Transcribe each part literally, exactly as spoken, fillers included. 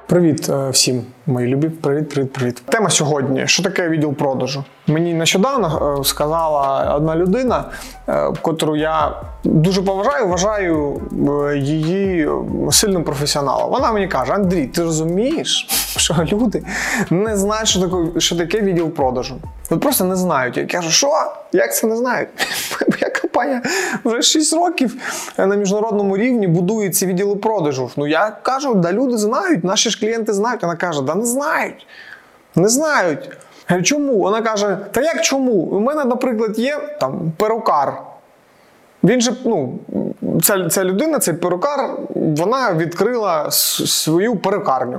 Привіт всім, мої любі. Привіт, привіт, привіт. Тема сьогодні. Що таке відділ продажу? Мені нещодавно сказала одна людина, котру я дуже поважаю, вважаю її сильним професіоналом. Вона мені каже: Андрій, ти розумієш, що люди не знають, що таке, що таке відділ продажу? От просто не знають. Я кажу, що? Як це не знають? Моя компанія вже шість років на міжнародному рівні будує ці відділи продажу. Ну я кажу, да люди знають, наші ж клієнти знають. Вона каже, да не знають. Не знають. Я кажу, чому? Вона каже, та як чому? У мене, наприклад, є там перукар. Він же, ну, ця, ця людина, цей перукар, вона відкрила свою перукарню.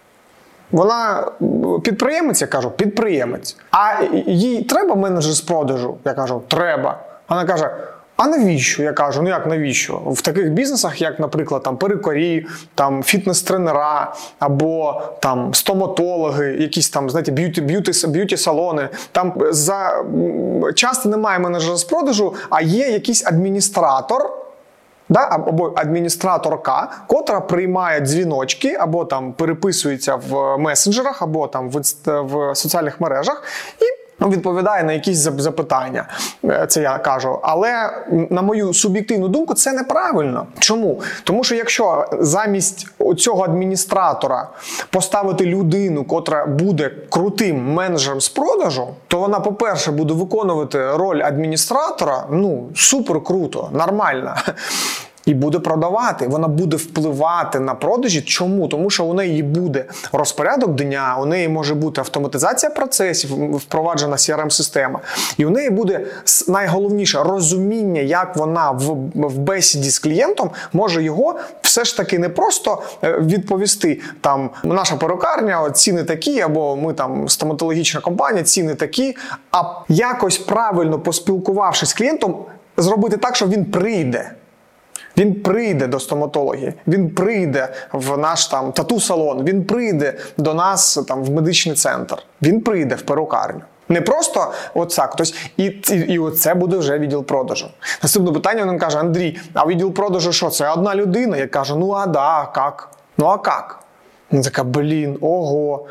Вона підприємець, я кажу, підприємець. А їй треба менеджер з продажу? Я кажу, треба. Вона каже, а навіщо? Я кажу, ну як навіщо? В таких бізнесах, як, наприклад, там перукарі, там фітнес-тренера або там стоматологи, якісь там, знаєте, б'юті, б'юті, б'юті-салони, там за часто немає менеджера з продажу, а є якийсь адміністратор, да, або адміністраторка, котра приймає дзвіночки, або там переписується в месенджерах, або там в, в соціальних мережах і відповідає на якісь запитання. Це я кажу. Але, на мою суб'єктивну думку, це неправильно. Чому? Тому що якщо замість цього адміністратора поставити людину, котра буде крутим менеджером з продажу, то вона, по-перше, буде виконувати роль адміністратора, ну, супер круто, нормально. І буде продавати, вона буде впливати на продажі. Чому? Тому що у неї буде розпорядок дня, у неї може бути автоматизація процесів, впроваджена сі ар ем-система. І у неї буде, найголовніше, розуміння, як вона в, в бесіді з клієнтом може його все ж таки не просто відповісти, там, наша перукарня, ціни такі, або ми там стоматологічна компанія, ціни такі, а якось правильно поспілкувавшись з клієнтом, зробити так, що він прийде. Він прийде до стоматології, він прийде в наш там тату-салон, він прийде до нас там в медичний центр, він прийде в перукарню. Не просто оцак. Тобто, і, і, і оце буде вже відділ продажу. Наступне питання, він каже, Андрій, а відділ продажу що? Це одна людина? Я кажу, ну а да, а як? Ну а як? Вона така, блін, ого,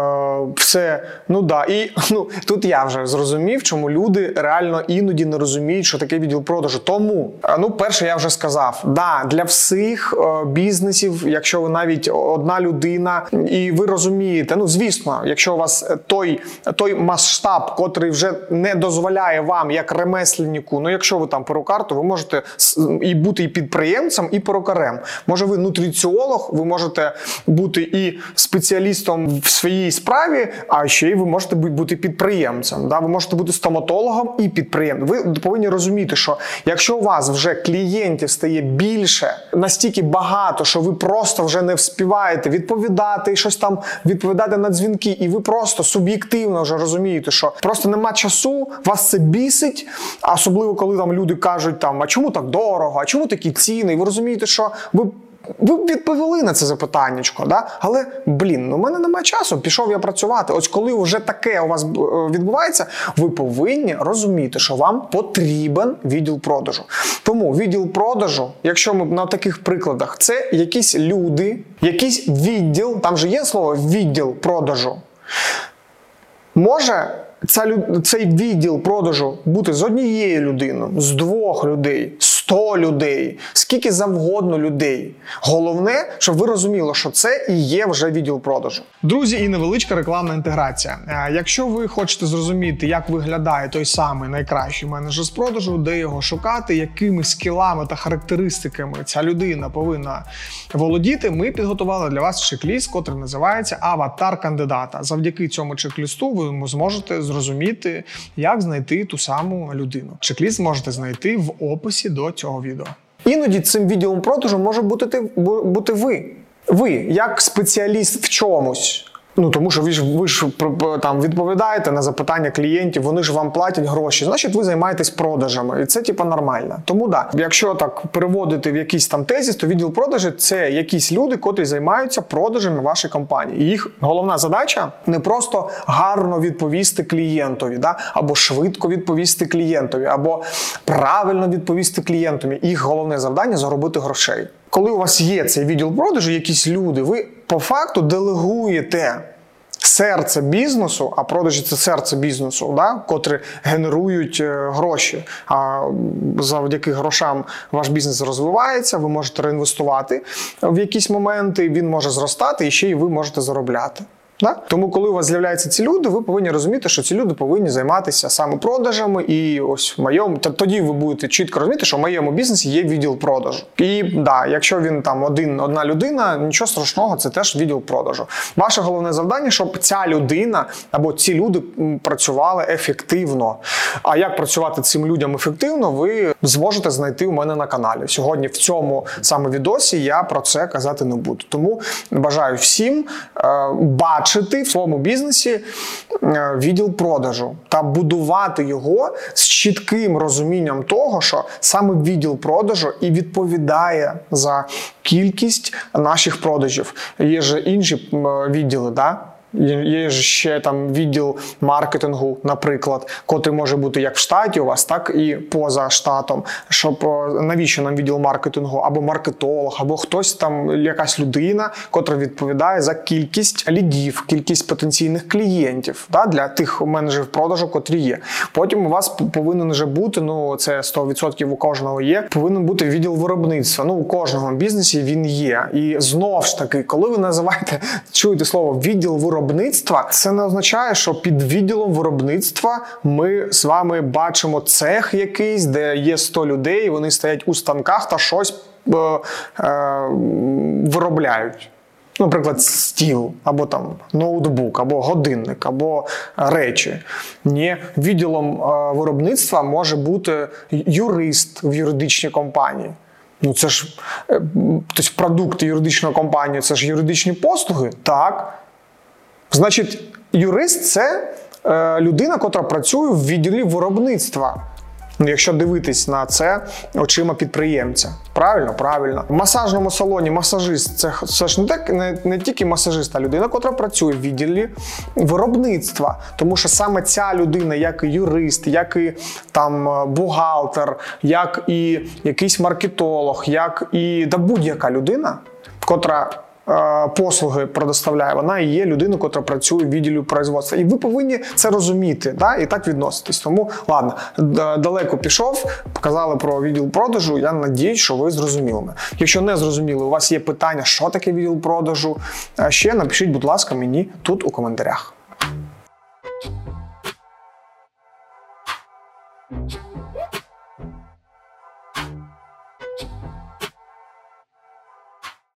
е, все, ну да. І ну, тут я вже зрозумів, чому люди реально іноді не розуміють, що таке відділ продажу. Тому, ну, перше, я вже сказав, да, для всіх е, бізнесів, якщо ви навіть одна людина, і ви розумієте, ну, звісно, якщо у вас той, той масштаб, котрий вже не дозволяє вам, як ремесленнику, ну, якщо ви там перукар, то ви можете і бути і підприємцем, і перукарем. Може, ви нутриціолог, ви можете бути і спеціалістом в своїй справі, а ще й ви можете бути підприємцем. Да? Ви можете бути стоматологом і підприємцем. Ви повинні розуміти, що якщо у вас вже клієнтів стає більше, настільки багато, що ви просто вже не вспіваєте відповідати, щось там відповідати на дзвінки, і ви просто суб'єктивно вже розумієте, що просто нема часу, вас це бісить, особливо коли там люди кажуть, там, а чому так дорого, а чому такі ціни, і ви розумієте, що ви Ви б відповіли на це запитаннячко, да? Але, блін, ну в мене немає часу, пішов я працювати. Ось коли вже таке у вас відбувається, ви повинні розуміти, що вам потрібен відділ продажу. Тому відділ продажу, якщо ми на таких прикладах, це якісь люди, якийсь відділ, там же є слово відділ продажу. Може цей відділ продажу бути з однією людиною, з двох людей, сто людей, скільки завгодно людей. Головне, щоб ви розуміли, що це і є вже відділ продажу. Друзі, і невеличка рекламна інтеграція. Якщо ви хочете зрозуміти, як виглядає той самий найкращий менеджер з продажу, де його шукати, якими скілами та характеристиками ця людина повинна володіти, ми підготували для вас чек-ліст, котрий називається «Аватар кандидата». Завдяки цьому чек-лісту ви зможете зрозуміти, як знайти ту саму людину. Чек-ліст можете знайти в описі до цього відео. Іноді цим відділом продажу може бути, бути ви. Ви, як спеціаліст в чомусь. Ну, тому що ви ж, ви ж там відповідаєте на запитання клієнтів, вони ж вам платять гроші, значить ви займаєтесь продажами, і це типа нормально. Тому да, якщо так переводити в якийсь там тезіс, то відділ продажу – це якісь люди, котрі займаються продажами вашої компанії. І їх головна задача не просто гарно відповісти клієнтові, да? Або швидко відповісти клієнтові, або правильно відповісти клієнтові. Їх головне завдання – заробити грошей. Коли у вас є цей відділ продажу, якісь люди, ви по факту делегуєте серце бізнесу, а продажі – це серце бізнесу, да, котрі генерують гроші. А завдяки грошам ваш бізнес розвивається, ви можете реінвестувати в якісь моменти, він може зростати і ще й ви можете заробляти. Да? Тому, коли у вас з'являються ці люди, ви повинні розуміти, що ці люди повинні займатися саме продажами, і ось в моєму, тоді ви будете чітко розуміти, що в моєму бізнесі є відділ продажу. І да, якщо він там один, одна людина, нічого страшного, це теж відділ продажу. Ваше головне завдання, щоб ця людина або ці люди працювали ефективно. А як працювати цим людям ефективно, ви зможете знайти у мене на каналі. Сьогодні в цьому саме відосі я про це казати не буду. Тому бажаю всім е, бачити в своєму бізнесі відділ продажу та будувати його з чітким розумінням того, що саме відділ продажу і відповідає за кількість наших продажів. Є ж інші відділи, да? Є ж ще там відділ маркетингу, наприклад, котрий може бути як в штаті у вас, так і поза штатом. Щоб навіщо нам відділ маркетингу, або маркетолог, або хтось там, якась людина, котра відповідає за кількість лідів, кількість потенційних клієнтів, да, для тих менеджерів продажу, котрі є. Потім у вас повинен вже бути, ну це сто відсотків у кожного є, повинен бути відділ виробництва. Ну у кожного бізнесі він є. І знову ж таки, коли ви називаєте, чуєте слово відділ виробництва, Виробництва, це не означає, що під відділом виробництва ми з вами бачимо цех якийсь, де є сто людей, вони стоять у станках та щось е, е, виробляють. Наприклад, стіл, або там ноутбук, або годинник, або речі. Ні, відділом е, виробництва може бути юрист в юридичній компанії. Ну це ж, е, тобто продукти юридичної компанії, це ж юридичні послуги? Так. Значить, юрист – це е, людина, котра працює в відділі виробництва. Якщо дивитись на це очима підприємця. Правильно? Правильно. В масажному салоні масажист – це, це ж не, так, не, не тільки масажист, а людина, котра працює в відділі виробництва. Тому що саме ця людина, як і юрист, як і там бухгалтер, як і якийсь маркетолог, як і да, будь-яка людина, котра послуги предоставляє, вона і є людина, яка працює в відділі производства. І ви повинні це розуміти, да? І так відноситись. Тому, ладно, далеко пішов, показали про відділ продажу, я надіюсь, що ви зрозуміли мене. Якщо не зрозуміли, у вас є питання, що таке відділ продажу, ще напишіть, будь ласка, мені тут у коментарях.